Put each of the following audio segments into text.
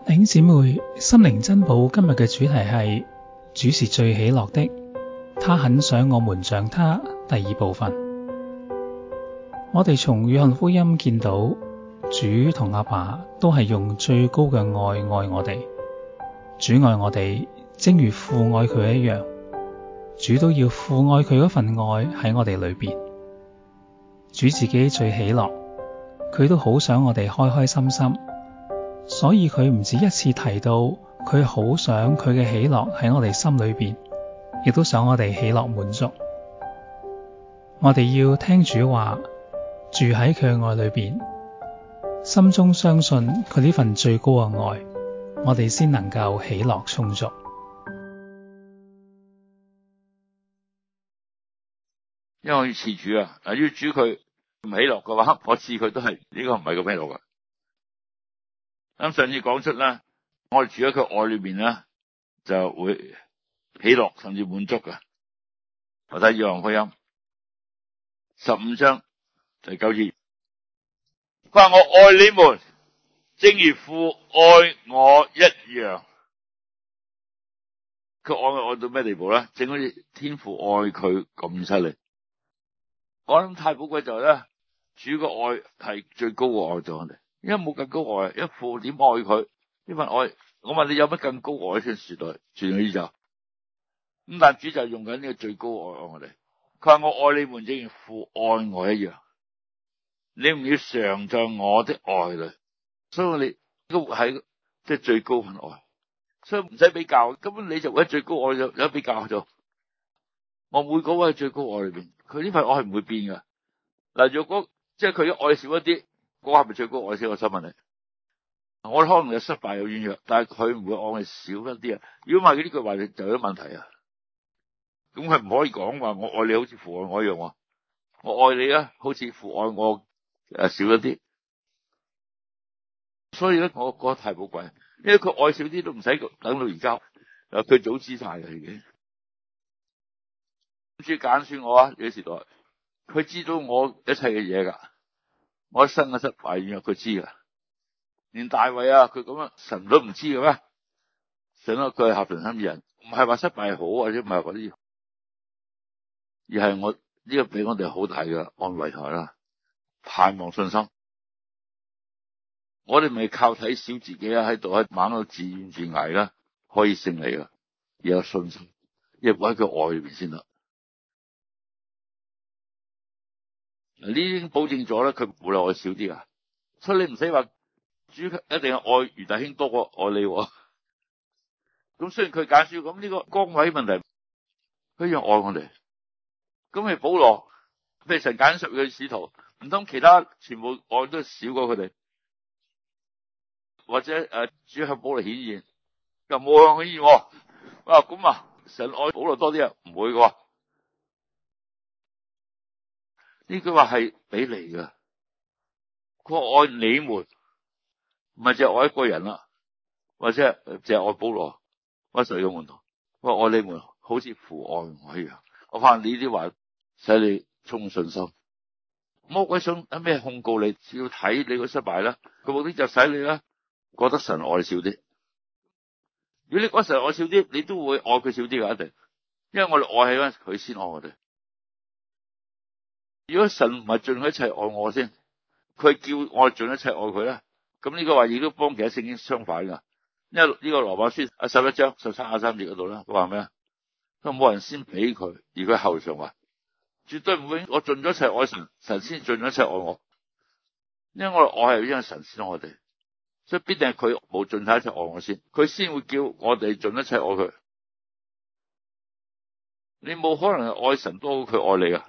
弟兄姊妹，心靈珍寶今日嘅主題係主是最喜樂的，他很想我們像他。第二部分，我哋從約翰福音見到主同阿爸都係用最高嘅愛愛我哋。主愛我哋，正如父愛佢一樣，主都要父愛佢嗰份愛喺我哋裏邊。主自己最喜樂，佢都好想我哋開開心心。所以佢唔止一次提到，佢好想佢嘅喜樂喺我哋心裏邊，亦都想我哋喜樂滿足。我哋要聽主話，住喺佢嘅愛裏邊，心中相信佢呢份最高嘅愛，我哋先能夠喜樂充足。 因為我要賜主啊，要主佢唔喜樂嘅話，我賜佢都係呢個唔係咁喜樂噶。咁上次講出啦，我哋住喺佢愛裏邊咧，就會喜樂甚至滿足噶。我睇約翰福音15章第9節，佢話我愛你們，正如父愛我一樣。佢愛到咩地步咧？正好似天父愛佢咁犀利。我諗太寶貴就係咧，主嘅愛係最高嘅愛對我哋。因為冇更高愛，因為父點愛佢呢份愛，我問你有乜更高愛先說來全宇宙咁？但主就用緊呢個最高愛愛我哋。佢話我愛你們，正如父愛我一樣，你唔要常在我的愛裡。所以我哋都喺即係最高份愛，所以唔使比較，根本你就喺最高愛有比較咗。我每個位喺最高愛裏邊，佢呢份愛係唔會變噶。嗱，若果即係佢嘅愛少一啲，嗰個係咪最高愛先？我想問你，我可能有失敗有軟弱，但係佢唔會愛少一啲啊。如果唔係呢句話就有問題啊。咁佢唔可以講話我愛你好似父愛我一樣，我愛你啊好似父愛我少一啲。所以咧，我覺得太寶貴，因為佢愛少啲都唔使等到而家，佢早知晒嘅已經。主揀選我啊，呢個時代，佢知道我一切嘅嘢噶，我一生嘅失敗軟弱佢知噶。連大衛啊，佢咁樣神都唔知嘅咩？神啊，佢係合神心意人，唔係話失敗好或者唔係嗰啲，而係我呢個俾我哋好大嘅安慰台啦，盼望信心。我哋咪靠睇小自己啊，喺度喺猛到自怨自艾啦，可以勝利噶，而有信心，亦活喺佢愛裏邊先得。呢啲已經保證咗咧，佢唔會愛少啲噶，所以你唔使話主一定係愛余大兄多過愛你。咁雖然佢揀選，咁呢個崗位問題，佢一樣愛我哋。咁係保羅，譬如神揀選佢使徒，唔通其他全部愛都少過佢哋？或者主向保羅顯現，又冇向佢顯現。哇，咁啊，神愛保羅多啲啊？唔會噶。呢句話係俾你噶，佢愛你們，唔係淨係愛一個人啦，或者淨係愛保羅，或者誰嘅門徒。我愛你們，好似父愛我一樣。我怕你啲話使你充滿信心。魔鬼想有咩控告你，只要睇你個失敗啦，佢目的就使你啦覺得神愛少啲。如果你覺得神愛少啲，你都會愛佢少啲噶，一定。因為我哋愛係咧，佢先愛我哋。如果神唔係盡一切愛我先，佢叫我盡一切愛佢咧，咁呢個話亦都幫其他聖經相反噶。因為呢個羅馬書11章13、23節嗰度咧，佢話咩啊？佢冇人先俾佢，而佢後上話，絕對唔會。我盡咗一切愛神，神先盡咗一切愛我。因為我哋愛係因為神先愛我哋，所以必定係佢冇盡晒一切愛我先，佢先會叫我哋盡一切愛佢。你冇可能係愛神多過佢愛你噶。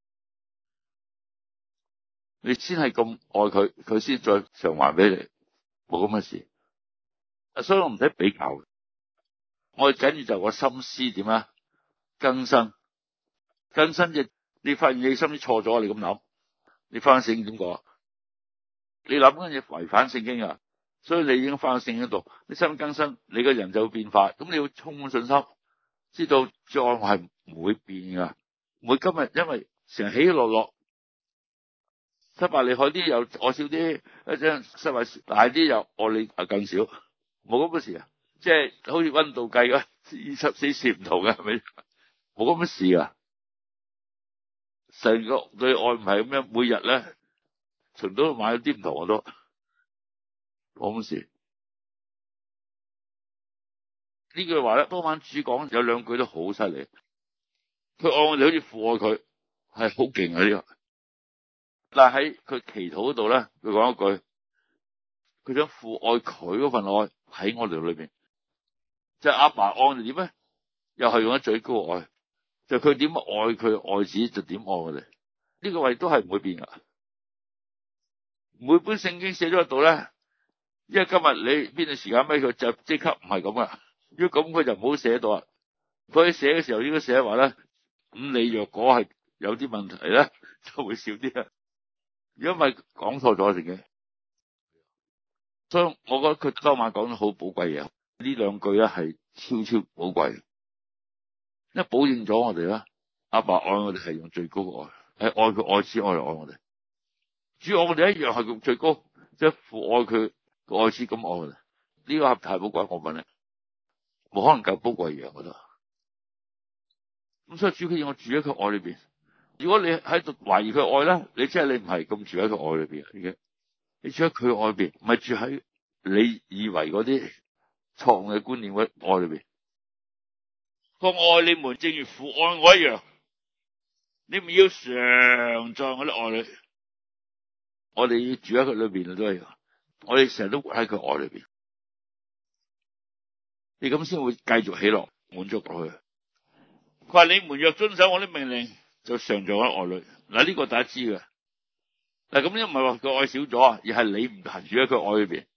你先係咁愛佢，佢先再償還俾你，冇咁嘅事。所以我唔使比較。我哋緊要就個心思點啊？更新嘅，你發現你心思錯咗，你咁諗，你翻聖經點講？你諗緊嘢違反聖經啊，所以你已經翻到聖經度，你心更新，你個人就會變化。咁你要充滿信心，知道主愛我係唔會變噶，唔會今日因為成日起起落落。失敗厲害啲又愛少啲，一陣失敗大啲又愛你更少， 冇咁嘅事啊，即係好似溫度計嘅24攝唔同嘅，係咪？冇咁嘅事啊！成個對愛唔係咁樣，每日咧從都買咗啲唔同我都冇咁事。呢句話咧，當晚主講有兩句都好犀利。佢愛我哋好似父愛佢，係好勁啊呢個。但係喺佢祈禱嗰度咧，佢講一句，佢想父愛佢嗰份愛喺我哋裏邊，即係阿爸愛我哋點咧？又係用咗最高嘅愛，就佢點愛佢愛子就點愛我哋。呢個位都係唔會變噶。每本聖經寫咗喺度咧，因為今日你邊段時間俾佢就即刻唔係咁噶。如果咁佢就唔好寫到啊。佢寫嘅時候應該寫話咧，咁你若果係有啲問題咧，就會少啲啊。如果唔係講錯咗聖經，所以我覺得佢當晚講得好寶貴嘢。呢兩句咧係超寶貴，因為保證咗我哋啦，阿爸愛我哋係用最高嘅愛，係愛佢愛子愛嚟愛我哋。主愛我哋一樣係用最高，即係父愛佢個愛子咁愛我哋。呢個係太寶貴，我問你，冇可能夠寶貴嘢，我覺得。咁所以主佢要我住喺佢愛裏邊。如果你喺度懷疑佢愛咧，你即係你唔係咁住喺佢愛裏邊已經。你住喺佢愛裏邊，唔係住喺你以為嗰啲錯誤嘅觀念嘅愛裏邊。我愛你們，正如父愛我一樣，你們要常在我的愛裏。我哋要住喺佢裏邊都係，我哋成日都活喺佢愛裏邊。你咁先會繼續喜樂滿足落去。佢話你們若遵守我的命令，就常在我的愛裏。嗱，呢個大家知嘅。嗱，咁又唔係話佢愛少咗啊，而係你唔行住喺佢愛裏邊。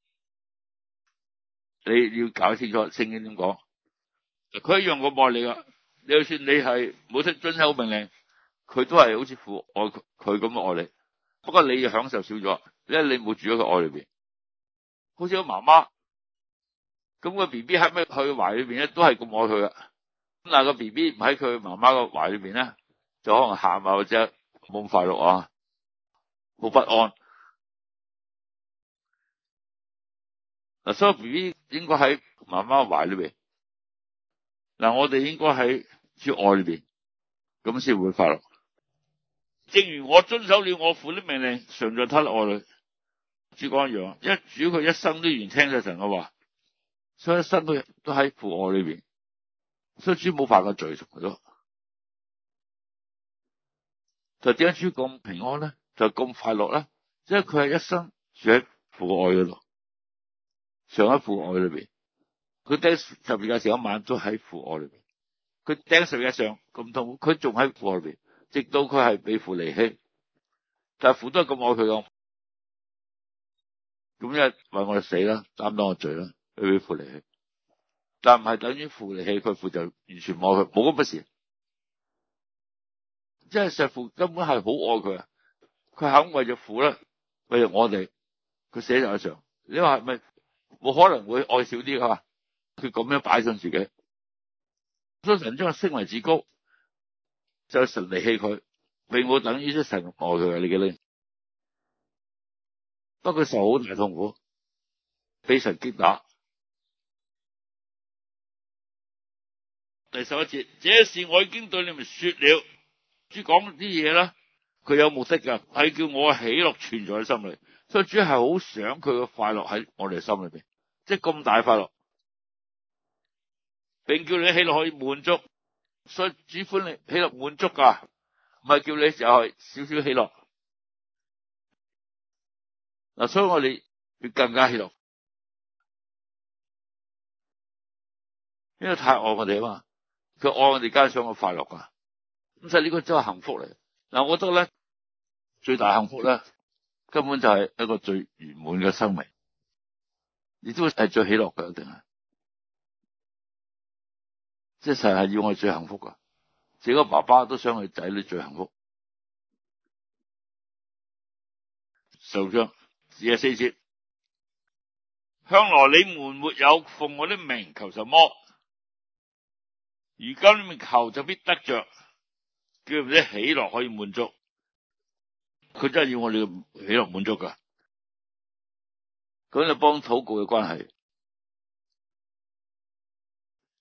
你要搞清楚聖經點講。佢一樣咁愛你噶。你就算你係冇識遵守命令，佢都係好似父愛佢咁愛你。不過你就享受少咗，因為你冇住喺佢愛裏邊。好似個媽媽，咁個 B B 喺咩佢懷裏邊咧，都係咁愛佢噶。咁但係個 B B 唔喺佢媽媽個懷裏邊咧，就可能喊啊，或者冇咁快樂啊，好不安。嗱，所以 B B 應該喺媽媽懷裏邊。嗱，我哋應該喺主愛裏邊，咁先會快樂。正如我遵守了我父的命令，常在他的愛裏。主講一樣，因為主佢一生都完聽咗神嘅話，所以一生都喺父愛裏邊，所以主冇犯過罪，從來都。就點解主咁平安咧？就咁快樂咧？因為佢係一生住喺父愛嗰度，常喺父愛裏邊。佢釘十字架前一晚都喺父愛裏邊。佢釘十字架上咁痛，佢仲喺父愛裏邊，直到佢係被父離棄。但係父都係咁愛佢咁，咁因為為我哋死啦，擔當我罪啦，佢被父離棄。但唔係等於父離棄佢，父就完全唔愛佢，冇咁嘅事。即係石父根本係好愛佢啊！佢肯為咗父咧，為咗我哋，佢寫在上。你話係咪冇可能會愛少啲啊？佢咁樣擺上自己，所以神將佢升為至高，就神離棄佢，並冇等於即神愛佢啊！你記得？不過佢受好大痛苦，俾神擊打。第11節，這事我已經對你們說了。主講啲嘢啦，佢有目的噶，係叫我喜樂存在喺心裏。所以主係好想佢嘅快樂喺我哋心裏邊，即係咁大快樂，並叫你喜樂可以滿足。所以主歡你喜樂滿足噶，唔係叫你就係少少喜樂。嗱，所以我哋要更加喜樂，因為太愛我哋啊嘛，佢愛我哋加上我快樂噶。咁所以呢個真係幸福嚟。嗱，我覺得咧最大幸福咧，根本就係一個最圓滿嘅生命，亦都係最喜樂嘅，一定係。即係神係要我哋最幸福噶，自己個爸爸都想佢仔女最幸福。受章24節，向來你們沒有奉我的名求什麼，如今你們求就必得着，叫你們的喜樂可以滿足。佢真係要我哋嘅喜樂滿足噶，咁就幫禱告嘅關係。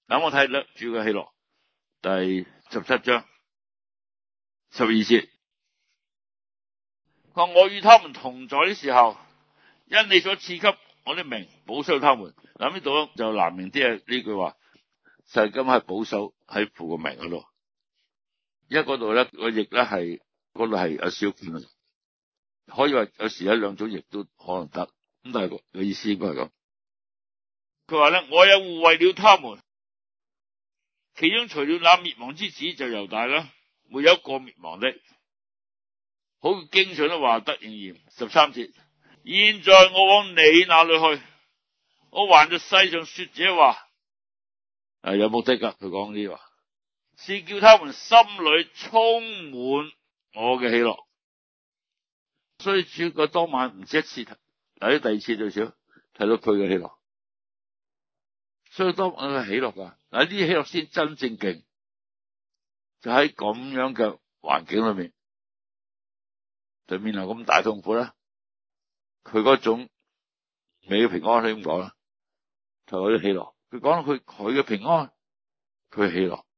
嗱，我睇咧主嘅喜樂，第17章12節，佢話我與他們同在的時候，因你所賜給我的名保守他們。嗱，呢度就難明啲啊，呢句話實今係保守喺父個名嗰度，因為嗰度咧個譯咧係嗰度係有少見，可以話有時有兩種譯都可能得，咁但係個意思應該係咁。佢話咧，我也護衛了他們，其中除了那滅亡之子就猶大啦，沒有一個滅亡的。好經上的話得應驗。13節，現在我往你那裏去，我還在世上說這話，有目的噶，佢講呢啲話，是叫他們心裡充滿我嘅喜樂。所以主個當晚唔止一次，嗱，第二次最少睇到佢嘅喜樂。所以當晚佢喜樂噶，嗱，呢啲喜樂先真正勁，就喺咁樣嘅環境裏面，對面臨咁大痛苦咧，佢嗰種美嘅平安，你咁講啦，就嗰啲喜樂。佢講到佢嘅平安，佢喜樂。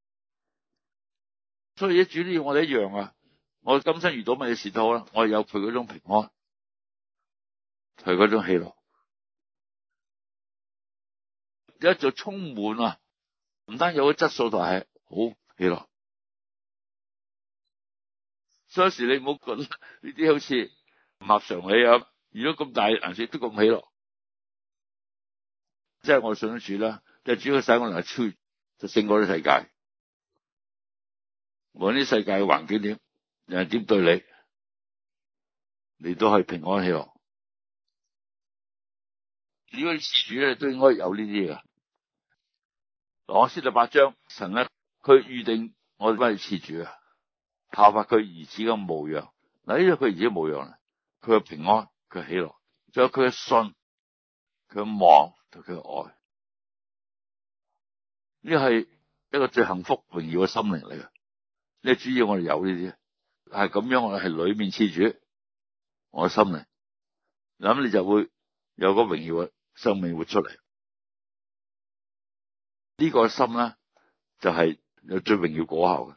所以一主都要我哋一樣啊！我今生遇到乜嘢事都好啦，我有佢嗰種平安，佢嗰種喜樂，一就充滿啊！唔單有個質素，就係好喜樂。所以有時你唔好覺得呢啲好似唔合常理啊！如果咁大顏色都咁喜樂，即係我信得主啦，即係主要使我能夠超越，就勝過啲世界。無論啲世界嘅環境點，人點對你，你都係平安喜樂。如果事主咧，都應該有呢啲嘅。羅馬書第8章，神咧佢預定我哋翻去賜主啊，效法佢兒子嘅模樣。嗱，呢個佢兒子嘅模樣啦，佢嘅平安，佢嘅喜樂，仲有佢嘅信，佢嘅望同佢嘅愛。呢係一個最幸福榮耀嘅心靈嚟嘅。呢主要我哋有呢啲，係咁樣我哋係裏面賜主我嘅心靈，咁你就會有個榮耀嘅生命活出嚟。呢個心咧就係有最榮耀果效嘅。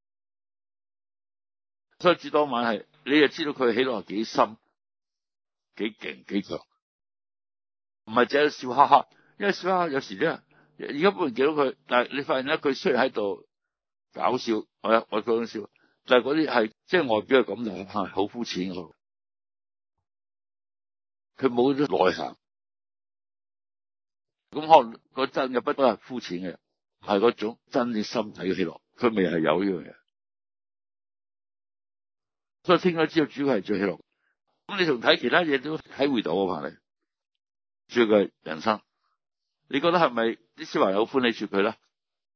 所以主當晚係你就知道佢嘅喜樂係幾深、幾勁、幾強，唔係淨係笑哈哈。因為笑哈哈有時咧，而家冇人見到佢，但係你發現咧，佢雖然喺度搞笑，我講笑，但係嗰啲係即係外表係咁，就係好膚淺嘅，佢冇咗內涵。咁可能個真嘅不都係膚淺嘅，係嗰種真正心底嘅喜樂，佢未係有呢樣嘢。所以聽咗之後，主要係最喜樂。咁你同睇其他嘢都體會到啊，怕你主要嘅人生，你覺得係咪啲小孩好歡喜住佢咧？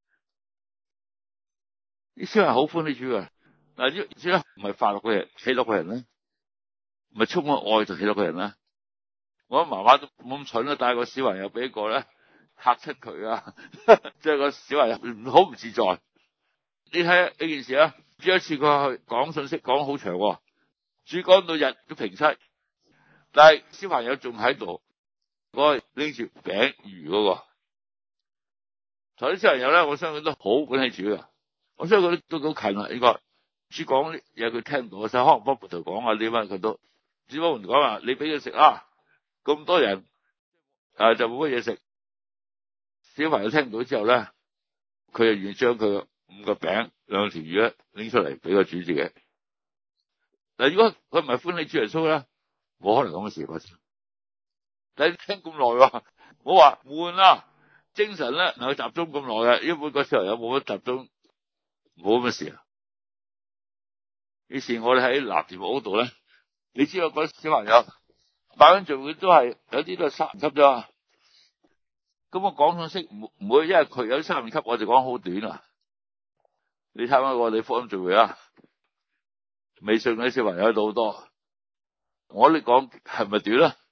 啲小孩好歡喜住佢，嗱，呢主咧唔係快樂嘅人，喜樂嘅人咧，唔係充滿愛就喜樂嘅人咧。我媽媽都冇咁蠢啦，帶個小朋友俾一個咧嚇親佢啊，即係個小朋友好唔自在。你睇下呢件事啊，主一次佢去講信息講好長，主講到日都平息，但係小朋友仲喺度，嗰個拎住餅魚嗰個，同啲小朋友咧，我相信都好歡喜主噶。我相信佢都好近啦，應該主講啲嘢佢聽到，所以可能幫門徒講啊啲乜佢都，主幫門徒講話你俾佢食啊，咁多人就冇乜嘢食。小朋友聽到之後咧，佢就願意將佢5個餅2條魚咧拎出嚟俾個主自己。嗱，如果佢唔係歡喜主耶穌咧，冇可能咁嘅事發生。但係你聽咁耐，我話悶啊，精神咧能夠集中咁耐嘅，因為個小朋友冇乜集中，冇乜事啊。於是我哋喺南田屋嗰度咧，你知道嗰小朋友辦緊聚會都係有啲都係3年級啫。咁我講信息唔會，因為佢有3年級，我就講好短啊。你睇翻我哋福音聚會啊，未信嗰啲小朋友喺度好多，我哋講係咪短啊？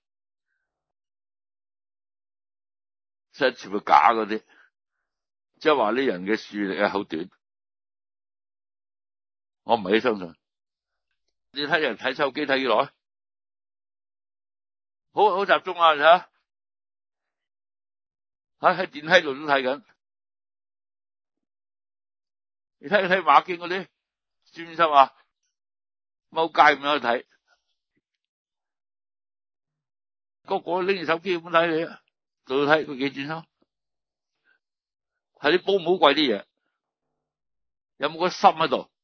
即係全部假嗰啲，即係話呢人嘅視力係好短。我唔係幾相信。你睇人睇手機睇幾耐？好集中啊！你睇下喺電梯度都睇緊。 你睇馬經嗰啲專心啊，踎街咁樣去睇，個個拎住手機咁睇你啊，就睇佢幾專心，係啲寶唔好貴啲嘢，有冇個心喺度？